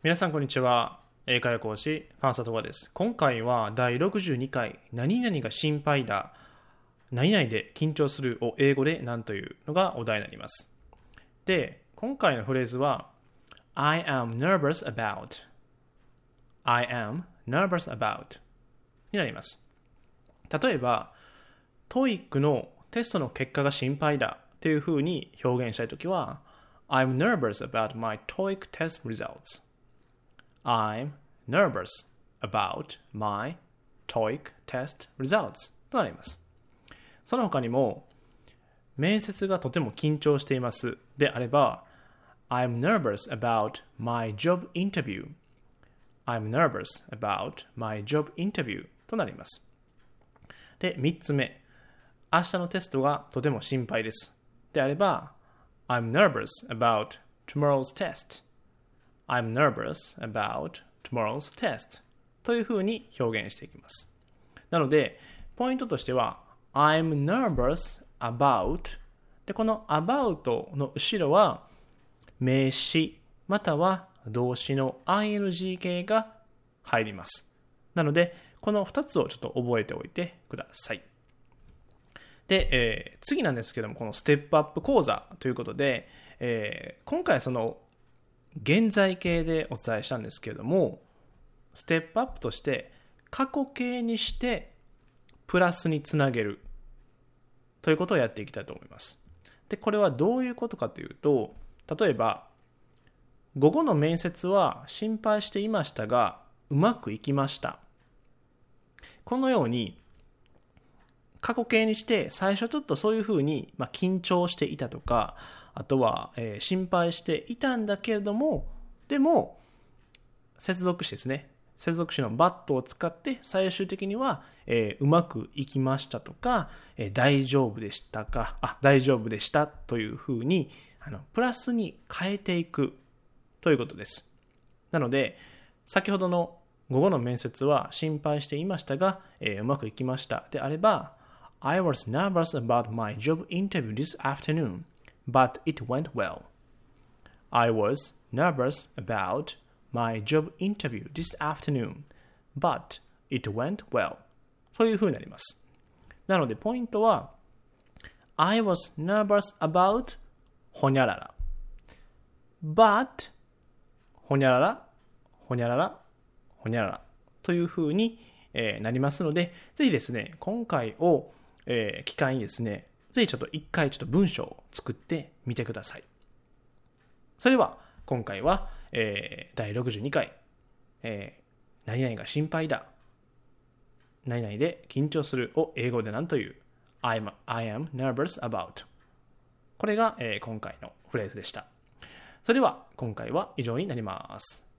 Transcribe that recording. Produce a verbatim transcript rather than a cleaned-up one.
皆さんこんにちは。英会話講師ファンサトワです。今回はだいろくじゅうにかい何々が心配だ、何々で緊張するを英語で何というのがお題になります。で、今回のフレーズは I am nervous about I am nervous about になります。例えば トーイック のテストの結果が心配だというふうに表現したいときは I'm nervous about my トーイック test results I'm nervous about my トーイック test results となります。その他にも、面接がとても緊張していますであれば、I'm nervous about my job interview I'm nervous about my job interview となります。で、みっつめ、明日のテストがとても心配ですであれば、I'm nervous about tomorrow's test I'm nervous about tomorrow's test というふうに表現していきます。なので、ポイントとしては I'm nervous about で、この about の後ろは名詞または動詞の アイエヌジー 形が入ります。なので、このふたつをちょっと覚えておいてください。で、えー、次なんですけども、このステップアップ講座ということで、えー、今回その現在形でお伝えしたんですけれども、ステップアップとして過去形にしてプラスにつなげるということをやっていきたいと思います。で、これはどういうことかというと、例えば午後の面接は心配していましたがうまくいきました。このように過去形にして最初ちょっとそういうふうに、まあ、緊張していたとか、あとは、えー、心配していたんだけれども、でも接続詞ですね、接続詞の but を使って最終的には、えー、うまくいきましたとか、えー、大丈夫でしたかあ大丈夫でしたというふうにあのプラスに変えていくということです。なので先ほどの午後の面接は心配していましたが、えー、うまくいきましたであれば I was nervous about my job interview this afternoon but it went well. I was nervous about my job interview this afternoon, but it went well. というふうになります。なので、ポイントは I was nervous about ほにゃらら but ほにゃらら、ほにゃらら、ほにゃららというふうに、えー、なりますので、ぜひですね、今回を、えー、機会にですね、ぜひちょっと一回ちょっと文章を作ってみてください。それでは今回は、えー、だいろくじゅうにかい、えー、何々が心配だ、何々で緊張するを英語で何という I'm, I am nervous about これが、えー、今回のフレーズでした。それでは今回は以上になります。